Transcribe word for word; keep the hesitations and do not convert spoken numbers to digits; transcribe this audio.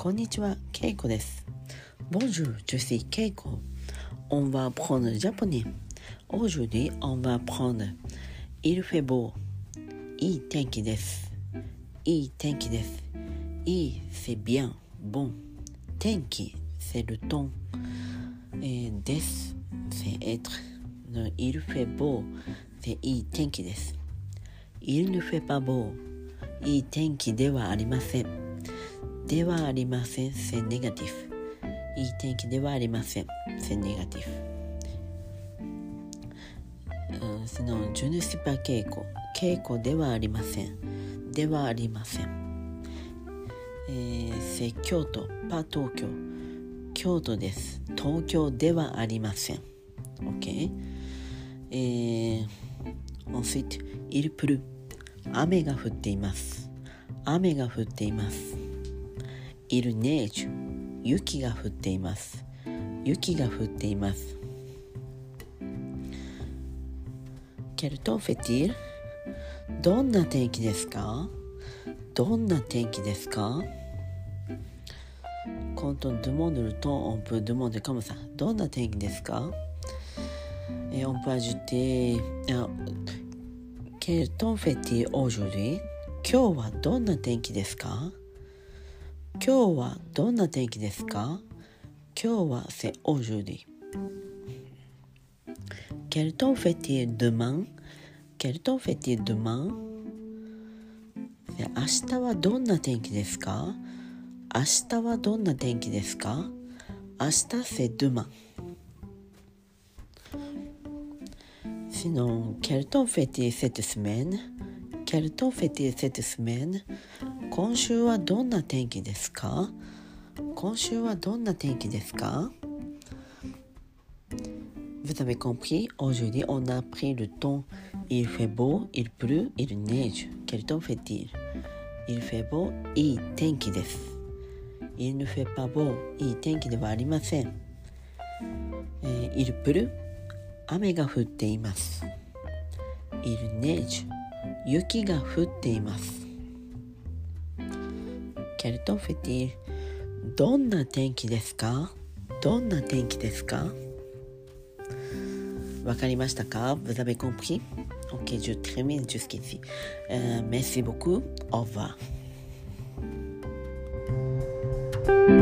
こんにちは、ケイコです。Bonjour, je suis Keiko. On va apprendre le japonais. Aujourd'hui, on va apprendre Il fait beau. いい天気です。いい天気です。いい c'est bien, bon. 天気 c'est le temps. Et です c'est être. Il fait beau, c'est いい天気です。Il ne fait pas beau. いい天気ではありません。ではありません。c'est négatif。いい天気ではありません。c'est négatif。sinon, je ne suis pas Keiko。Keikoではありません。ではありません。えー、c'est 京都、pas 東京。京都です。東京ではありません。OK。えー、ensuite, il pleut。雨が降っています。雨が降っています。Il neige。雪が降っています。雪が降っています。Quel temps fait-il？ どんな天気ですか？どんな天気ですか？ Quand on demande le temps, on peut demander comme ça. どんな天気ですか？ Et on peut ajouter Quel temps fait-il aujourd'hui？ 今日はどんな天気ですか？今日はどんな天気ですか？今日は c'est aujourd'hui。 Quel temps fait-il demain? Quel temps fait-il demain? 明日はどんな天気ですか？明日はどんな天気ですか？明日 c'est demain。 Sinon, quel temps fait-il cette semaine? Quel temps fait-il cette semaine? 今週はどんな天気ですか？今週はどんな天気ですか？ Vous avez compris? Aujourd'hui, on a pris le temps. Il fait beau, il pleut, il neige. Quel temps fait-il? Il fait beau, いい天気です。Il ne fait pas beau, いい天気ではありません。えー、il pleut、雨が降っています。Il neige、雪が降っています。Quel temps fait-il? どんな天気ですか？どんな天気ですか？わかりましたか？ Vous avez compris? Ok, je termine jusqu'ici. Euh, merci beaucoup. Au revoir.